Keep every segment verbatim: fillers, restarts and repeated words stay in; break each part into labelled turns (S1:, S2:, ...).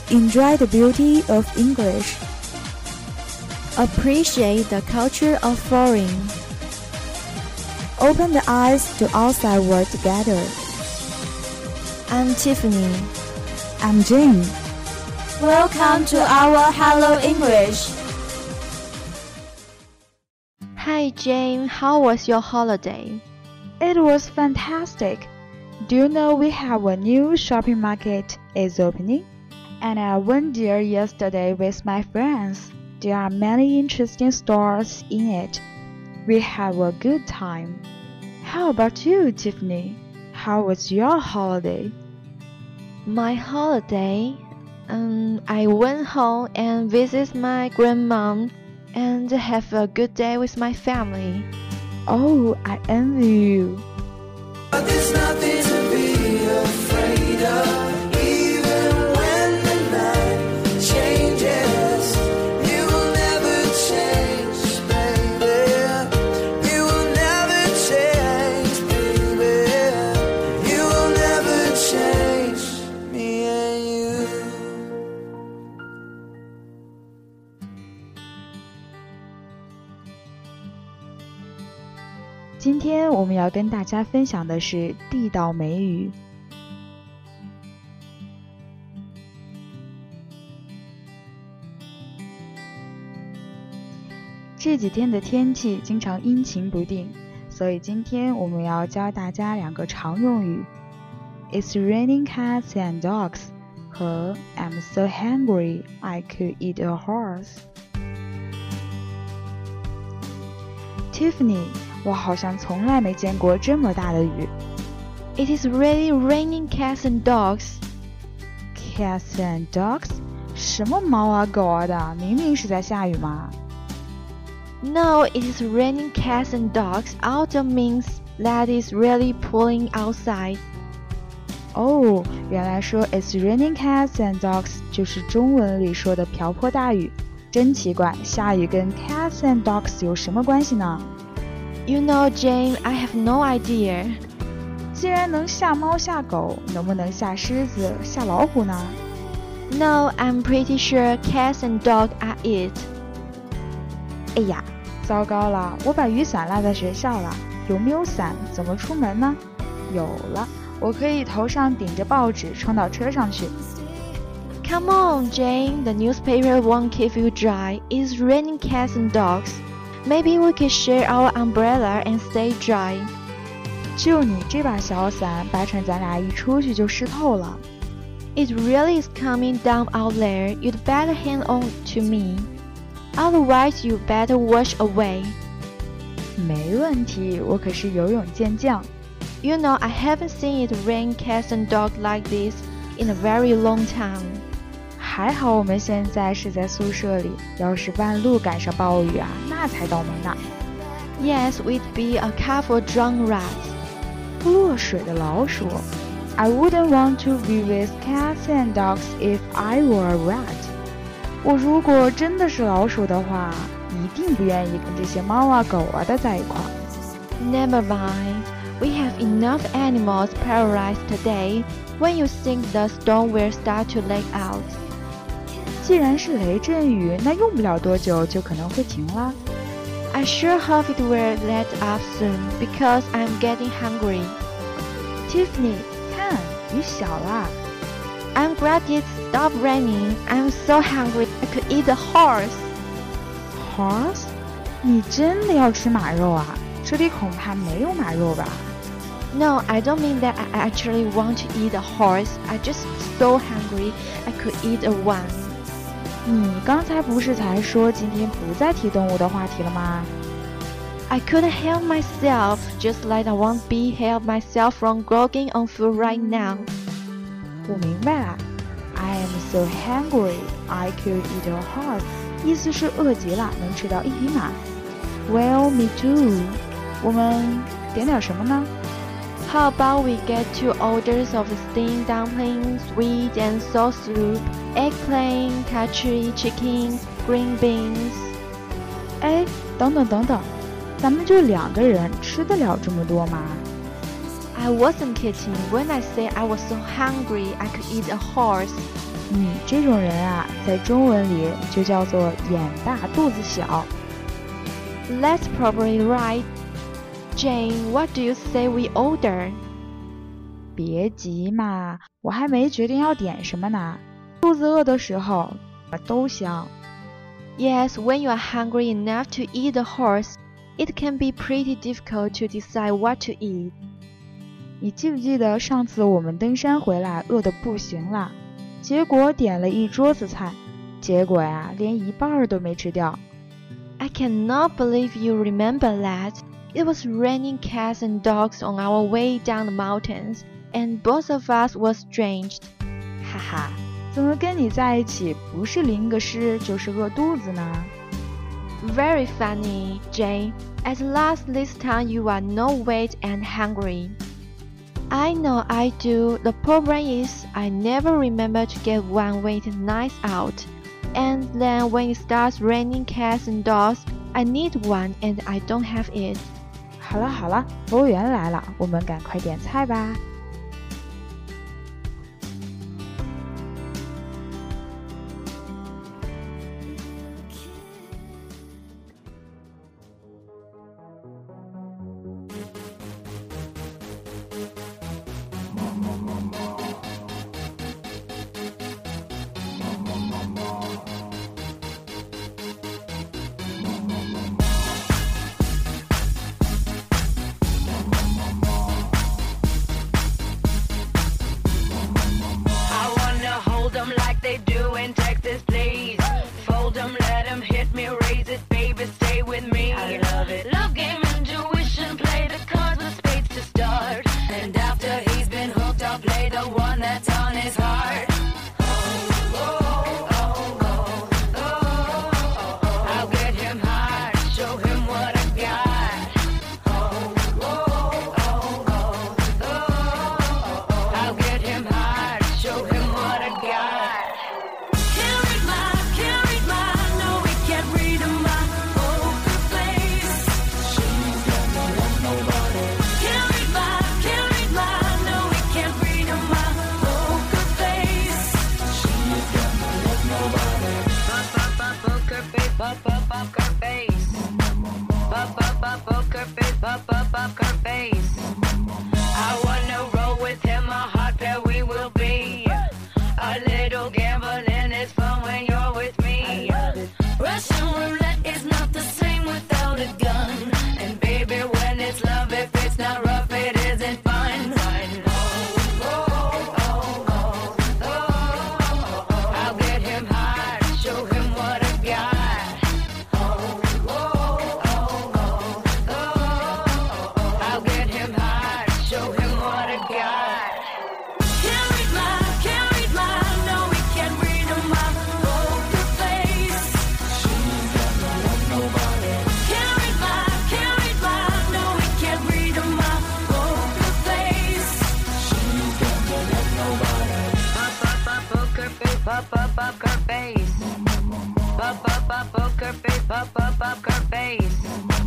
S1: Enjoy the beauty of English.
S2: Appreciate the culture of foreign.
S1: Open the eyes to outside world together.
S2: I'm Tiffany.
S1: I'm Jane.
S3: Welcome to our Hello English.
S2: Hi Jane, how was your holiday?
S1: It was fantastic. Do you know we have a new shopping market is opening? And I went there yesterday with my friends. There are many interesting stores in it. We have a good time. How about you, Tiffany? How was your holiday?
S2: My holiday? Um, I went home and visited my grandmom and have a good day with my family.
S1: Oh, I envy you.
S4: But there's nothing to be afraid of.
S1: 今天我们要跟大家分享的是地道美语。这几天的天气经常阴晴不定，所以今天我们要教大家两个常用语 It's raining cats and dogs 和 I'm so hungry I could eat a horse。 Tiffany，我好像从来没见过这么大的雨。
S2: It is really raining cats and dogs.
S1: Cats and dogs？ 什么猫啊狗啊的，明明是在下雨嘛。
S2: No, it is raining cats and dogs. Autumn means that it's really pouring outside.
S1: 哦，原来说 It's raining cats and dogs 就是中文里说的瓢泼大雨。真奇怪，下雨跟 cats and dogs 有什么关系呢？
S2: You know, Jane, I have no idea.
S1: 既然能吓猫吓狗，能不能吓狮子吓老虎呢？
S2: No, I'm pretty sure cats and dogs are it.
S1: 哎呀，糟糕了，我把雨伞落在学校了，有没有伞？怎么出门呢？有了，我可以头上顶着报纸冲到车上去。
S2: Come on, Jane, the newspaper won't keep you dry. It's raining cats and dogs. Maybe we could share our umbrella and stay dry.
S1: 就你这把小伞，八成咱俩一出去就湿透了。
S2: It really is coming down out there. You'd better hang on to me. Otherwise, you better wash away.
S1: 没问题，我可是游泳健将。
S2: You know, I haven't seen it rain cats and dogs like this in a very long time.
S1: 还好我们现在是在宿舍里，要是半路赶上暴雨啊，那才倒霉呢。
S2: Yes, we'd be a couple drowned rats.
S1: 落水的老鼠。 I wouldn't want to be with cats and dogs if I were a rat. 我如果真的是老鼠的话，一定不愿意跟这些猫啊狗啊的在一块。
S2: Never mind. We have enough animals paralyzed today. When you think the storm will start to let out.
S1: 既然是雷阵雨，那用不了多久就可能会停了。
S2: I sure hope it will let up soon because I'm getting hungry.
S1: Tiffany， 看，雨小了。
S2: I'm glad it stopped raining. I'm so hungry I could eat a horse.
S1: Horse？ 你真的要吃马肉啊？这里恐怕没有马肉吧？
S2: No, I don't mean that I actually want to eat a horse. I just so hungry I could eat a one.
S1: 你刚才不是才说今天不再提动物的话题了吗？
S2: I couldn't help myself, just like I won't be help myself from groggy on food right now.
S1: 我明白了 I am so hungry, I could eat a horse 意思是饿极了，能吃到一匹马。 Well, me too. 我们点点什么呢？
S2: How about we get two orders of steamed dumplings, sweet and sour soup, eggplant, country chicken, green beans.
S1: 哎，等等等等，咱们就两个人，吃得了这么多吗？
S2: I wasn't kidding when I said I was so hungry I could eat a horse.
S1: 嗯，这种人啊，在中文里就叫做眼大肚子小。
S2: That's probably right. Jane, what do you say we order?
S1: 别急嘛，我还没决定要点什么呢。肚子饿的时候，都香。
S2: Yes, when you are hungry enough to eat a horse, it can be pretty difficult to decide what to eat.
S1: 你记不记得上次我们登山回来饿得不行了，结果点了一桌子菜，结果呀，连一半都没吃掉。
S2: I cannot believe you remember that. It was raining cats and dogs on our way down the mountains, and both of us were drenched.
S1: 哈哈，怎么跟你在一起不是淋个湿就是饿肚子呢？
S2: Very funny, Jane. At last this time you are no weight and hungry. I know I do. The problem is I never remember to get one weight nice out. And then when it starts raining cats and dogs, I need one and I don't have it.
S1: 好了好了，服务员来了，我们赶快点菜吧。
S5: Like they do in Texas, please. Fold them, let them hit me, raise it, baby, stay with me. I love it. Love game, intuition, play the cards with spades to start. And after he's been hooked, I'll play the one that's on his heart. Oh, oh, oh, oh, oh, oh, oh. I'll get him high, show him what I got. Oh, oh, oh, oh, oh, oh. I'll get him high, show him what I got. Up, up, up her face. Up, up, up, up her face. Up, up, up her face. I wanna roll with him, a hot pair we will be. A little gambling is fun when you're with me. Russian roulette is not the same without a gun. And baby, when it's love, if it's not rough, it isn't fun. Oh, oh, oh, oh, oh, oh. I'll get him high, show him what I got. Up, up, up her face. Up, up, up, up her face. Up, up, up her face.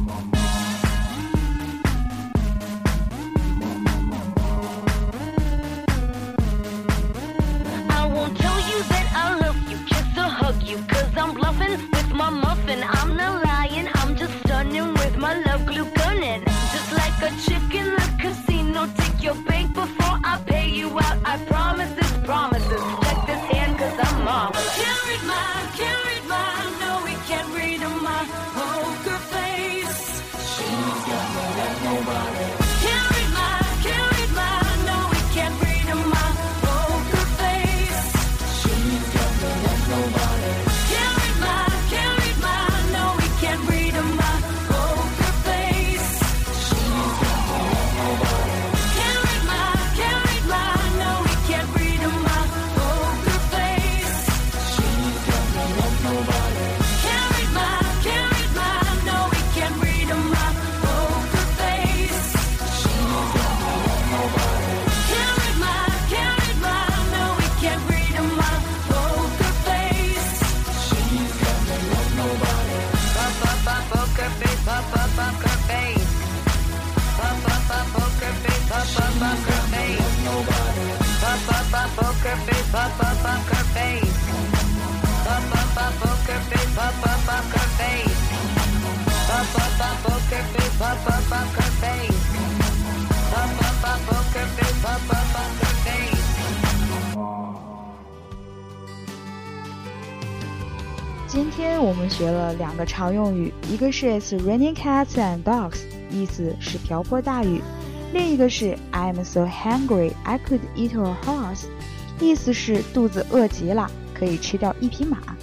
S5: I won't tell you that I love you, kiss or hug you, cause I'm bluffing with my muffin. I'm not lying, I'm just stunning with my love glue gunning. Just like a chick in the casino, take your bank before I pay you out. I promise this promises. Check this hand cause I'm marvelous. Can't read my, can't read my, no we can't read my poker face. She's got no love, nobody. Can't read my, can't read my, no we can't read my poker face. She's got no love, nobody. Can't read my, can't read my, no we can't read my poker face. She's got no love, nobody. Can't read my, can't read my, no we can't poker face, pop up poker face. Pop up a poker face, pop up poker face. Pop up a poker face, pop up poker face. Pop up a poker face, pop up poker face.
S1: 今天我们学了两个常用语，一个是 It's raining cats and dogs， 意思是瓢泼大雨；另一个是 I'm so hungry I could eat a horse， 意思是肚子饿极了，可以吃掉一匹马。